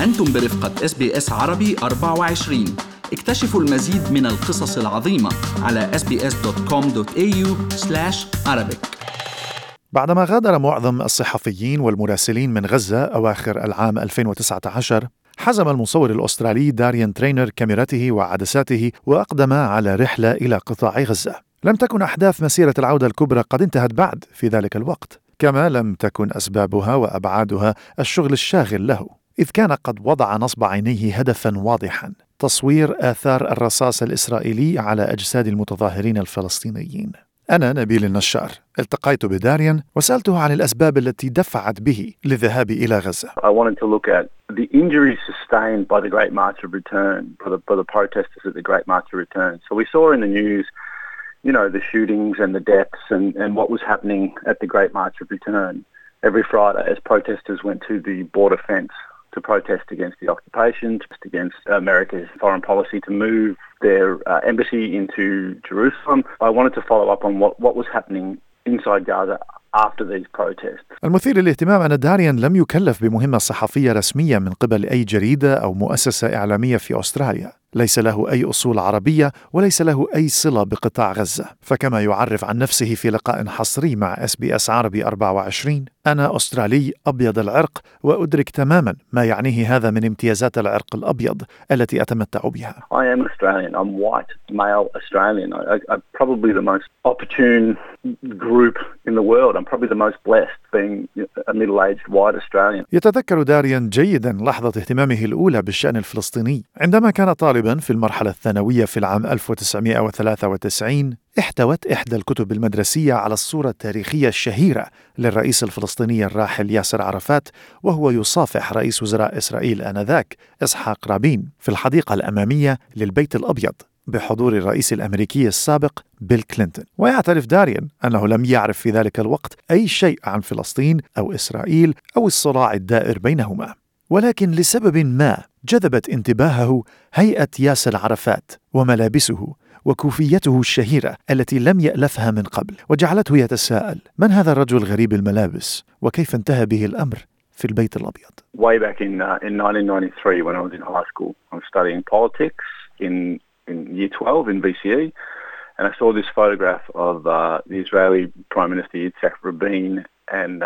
أنتم برفقة SBS عربي 24. اكتشفوا المزيد من القصص العظيمة على sbs.com.au/Arabic. بعدما غادر معظم الصحفيين والمراسلين من غزة أواخر العام 2019، حزم المصور الأسترالي داريان ترينر كاميرته وعدساته وأقدم على رحلة إلى قطاع غزة. لم تكن أحداث مسيرة العودة الكبرى قد انتهت بعد في ذلك الوقت، كما لم تكن أسبابها وأبعادها الشغل الشاغل له، إذ كان قد وضع نصب عينيه هدفا واضحا: تصوير آثار الرصاص الإسرائيلي على أجساد المتظاهرين الفلسطينيين. أنا نبيل النشار التقيت بداريان وسألته عن الأسباب التي دفعت به للذهاب إلى غزة. I wanted to look at the injuries sustained by the Great March of Return, by the protesters at the Great March of Return. So we saw in the news, you know, the shootings and the deaths and what was happening at the Great March of Return every Friday as protesters went to the border fence to protest against the occupation, against America's foreign policy to move their embassy into Jerusalem. I wanted to follow up on what was happening inside Gaza after these protests. المثير للاهتمام أن داريان لم يكلف بمهمة صحفية رسمية من قبل أي جريدة أو مؤسسة إعلامية في أستراليا. ليس له أي أصول عربية وليس له أي صلة بقطاع غزة. فكما يعرف عن نفسه في لقاء حصري مع SBS عربي 24: أنا أسترالي أبيض العرق وأدرك تماما ما يعنيه هذا من امتيازات العرق الأبيض التي أتمتع بها. I am Australian. I'm white, male Australian. I'm probably the most opportune group in the world. I'm probably the most blessed being a middle-aged white Australian. يتذكر داريان جيدا لحظة اهتمامه الأولى بالشأن الفلسطيني عندما كان طالبا في المرحلة الثانوية في العام 1993. احتوت إحدى الكتب المدرسية على الصورة التاريخية الشهيرة للرئيس الفلسطيني الراحل ياسر عرفات وهو يصافح رئيس وزراء إسرائيل آنذاك إسحاق رابين في الحديقة الأمامية للبيت الأبيض بحضور الرئيس الأمريكي السابق بيل كلينتون. ويعترف داريان أنه لم يعرف في ذلك الوقت أي شيء عن فلسطين أو إسرائيل أو الصراع الدائر بينهما، ولكن لسبب ما جذبت انتباهه هيئة ياسر عرفات وملابسه وكوفيته الشهيرة التي لم يألفها من قبل، وجعلته يتساءل: من هذا الرجل غريب الملابس وكيف انتهى به الأمر في البيت الأبيض؟ Way back in 1993 when I was in high school, I was studying politics in year 12 in BCE, and I saw this photograph of the Israeli Prime Minister Yitzhak Rabin and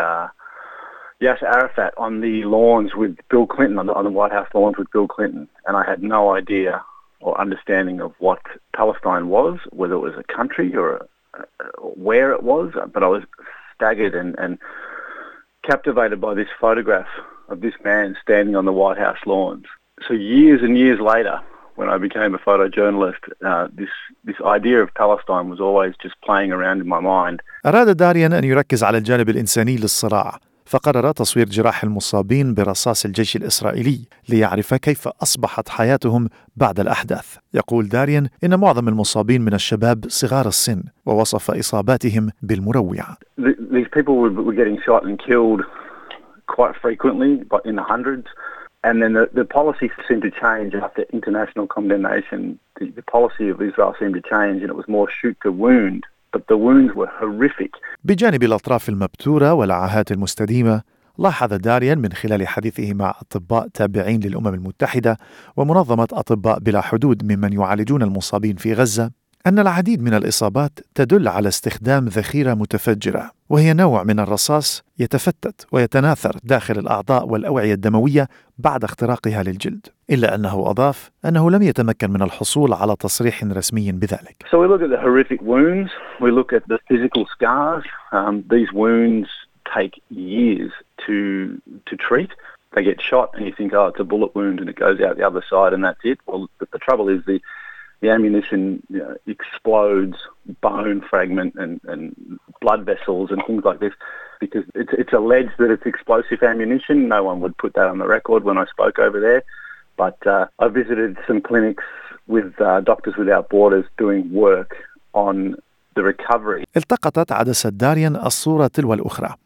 Yasser Arafat on the lawns with Bill Clinton, on the White House lawns with Bill Clinton, and I had no idea or understanding of what Palestine was, whether it was a country or where it was, but I was staggered and captivated by this photograph of this man standing on the White House lawns. So years and years later, when I became a photojournalist, this idea of Palestine was always just playing around in my mind. أراد داريان أن يركز على الجانب الإنساني للصراع، فقرر تصوير جراح المصابين برصاص الجيش الإسرائيلي ليعرف كيف أصبحت حياتهم بعد الأحداث. يقول داريان إن معظم المصابين من الشباب صغار السن، ووصف إصاباتهم بالمروعة. These people were getting shot and killed quite frequently, but in the hundreds. And then the policy seemed to change after international condemnation. The policy of Israel seemed to change, and it was more shoot to wound. But the wounds were horrific. بجانب الأطراف المبتورة والعاهات المستديمة، لاحظ داريان من خلال حديثه مع أطباء تابعين للأمم المتحدة ومنظمة أطباء بلا حدود ممن يعالجون المصابين في غزة أن العديد من الإصابات تدل على استخدام ذخيرة متفجرة، وهي نوع من الرصاص يتفتت ويتناثر داخل الأعضاء والأوعية الدموية بعد اختراقها للجلد. إلا أنه أضاف أنه لم يتمكن من الحصول على تصريح رسمي بذلك. So we look at the horrific wounds, we look at the physical scars. These wounds take years to treat. They get shot and you think, oh, it's a bullet wound and it goes out the other side and that's it. Well, the trouble is the ammunition, you know, explodes bone fragment and blood vessels and things like this because it's alleged that it's explosive ammunition. No one would put that on the record when I spoke over there. But I visited some clinics with Doctors Without Borders doing work on the recovery. التقطت عدسة داريان الصورة تلو الأخرى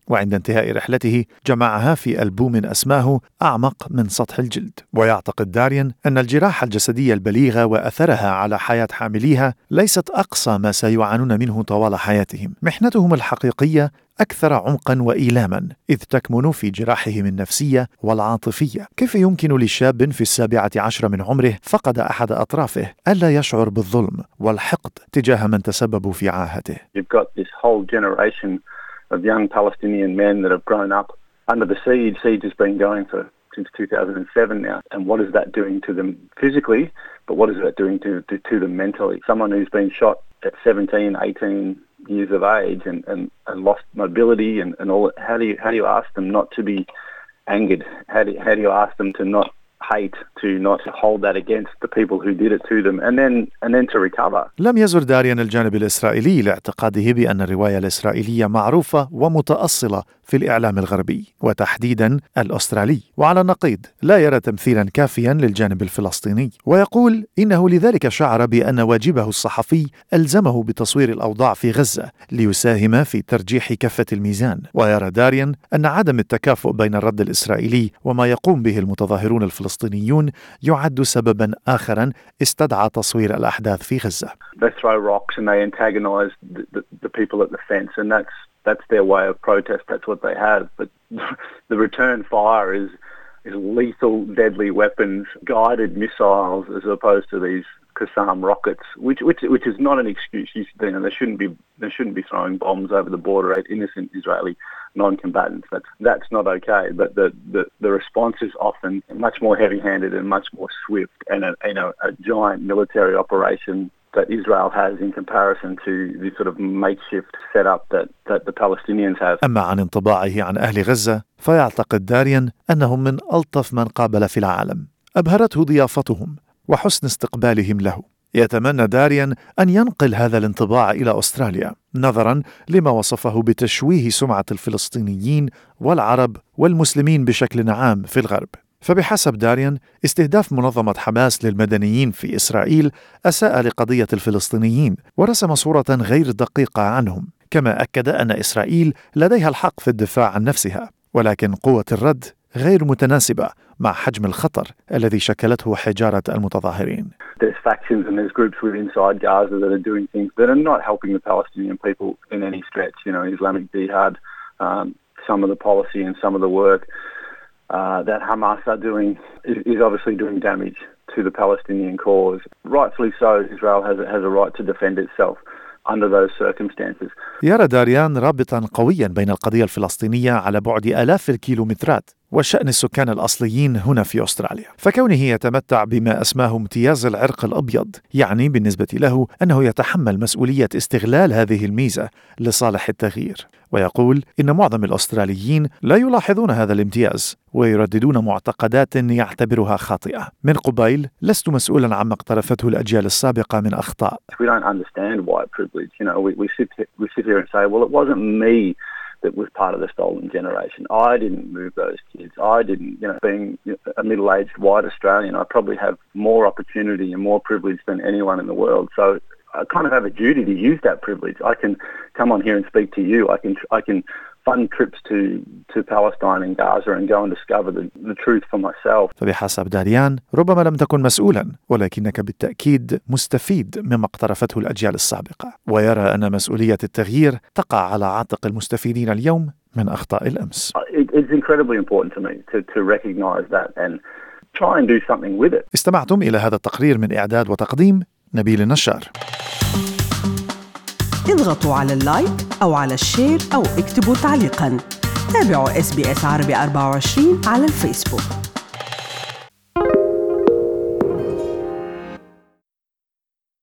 وعند انتهاء رحلته جمعها في ألبوم أسماه أعمق من سطح الجلد. ويعتقد داريان أن الجراحة الجسدية البليغة وأثرها على حياة حامليها ليست أقصى ما سيعانون منه طوال حياتهم. محنتهم الحقيقية أكثر عمقاً وإيلاما، إذ تكمن في جراحهم النفسية والعاطفية. كيف يمكن لشاب في 17 من عمره فقد أحد أطرافه ألا يشعر بالظلم والحقد تجاه من تسببوا في عاهته؟ You've got this whole generation of young Palestinian men that have grown up under the siege. Siege has been going since 2007 now. And what is that doing to them physically, but what is that doing to them mentally? Someone who's been shot at 17, 18 years of age and lost mobility and all. How do you ask them not to be angered? How do you ask them to not hate, to not hold that against the people who did it to them and then to recover? لم يزر داريان الجانب الإسرائيلي لاعتقاده بأن الرواية الإسرائيلية معروفة ومتأصلة في الإعلام الغربي وتحديدا الأسترالي، وعلى النقيض لا يرى تمثيلا كافيا للجانب الفلسطيني، ويقول إنه لذلك شعر بأن واجبه الصحفي ألزمه بتصوير الأوضاع في غزة ليساهم في ترجيح كفة الميزان. ويرى داريان أن عدم التكافؤ بين الرد الإسرائيلي وما يقوم به المتظاهرون الفلسطينيون يعد سببا آخرا استدعى تصوير الأحداث في غزة. They throw rocks and they antagonize the people at the fence, and that's their way of protest. That's what they have. But the return fire is lethal, deadly weapons, guided missiles, as opposed to these Qassam rockets, which is not an excuse. They shouldn't be throwing bombs over the border at innocent Israeli non-combatants. That's not okay. But the response is often much more heavy-handed and much more swift, and a giant military operation that Israel has in comparison to the sort of makeshift setup that the Palestinians have. أما عن انطباعه عن أهل غزة فيعتقد داريان أنهم من ألطف من قابل في العالم. أبهرته ضيافتهم وحسن استقبالهم له. يتمنى داريان أن ينقل هذا الانطباع إلى أستراليا نظرا لما وصفه بتشويه سمعة الفلسطينيين والعرب والمسلمين بشكل عام في الغرب. فبحسب داريان استهداف منظمة حماس للمدنيين في إسرائيل أساء لقضية الفلسطينيين ورسم صورة غير دقيقة عنهم، كما أكد أن إسرائيل لديها الحق في الدفاع عن نفسها، ولكن قوة الرد غير متناسبة مع حجم الخطر الذي شكلته حجارة المتظاهرين. There's factions and there's groups inside Gaza that are doing things that are not helping the Palestinian people in any stretch. Islamic Jihad, some of the policy and some of the work that Hamas are doing is obviously doing damage to the Palestinian cause. Rightfully so, Israel has a right to defend itself under those circumstances. يرى داريان رابطا قويا بين القضية الفلسطينية على بعد آلاف الكيلومترات وشأن السكان الأصليين هنا في أستراليا، فكونه يتمتع بما أسماه امتياز العرق الأبيض يعني بالنسبة له أنه يتحمل مسؤولية استغلال هذه الميزة لصالح التغيير. ويقول إن معظم الأستراليين لا يلاحظون هذا الامتياز ويرددون معتقدات يعتبرها خاطئة. من قبيل لست مسؤولا عما اقترفته الأجيال السابقة من أخطاء. We don't understand white privilege. We sit here and say, well, it wasn't me that was part of the stolen generation. I didn't move those kids. I didn't, being a middle-aged white Australian, I probably have more opportunity and more privilege than anyone in the world. So I kind of have a duty to use that privilege. I can come on here and speak to you. I can fund trips to Palestine and Gaza and go and discover the truth for myself. فبحسب داريان ربما لم تكن مسؤولا، ولكنك بالتأكيد مستفيد مما اقترفته الأجيال السابقة، ويرى أن مسؤولية التغيير تقع على عاتق المستفيدين اليوم من أخطاء الأمس. It's incredibly important to me to recognize that and try and do something with it. استمعتم إلى هذا التقرير من إعداد وتقديم نبيل النشار. اضغطوا على اللايك أو على الشير أو اكتبوا تعليقاً. تابعوا SBS عربي 24 على الفيسبوك.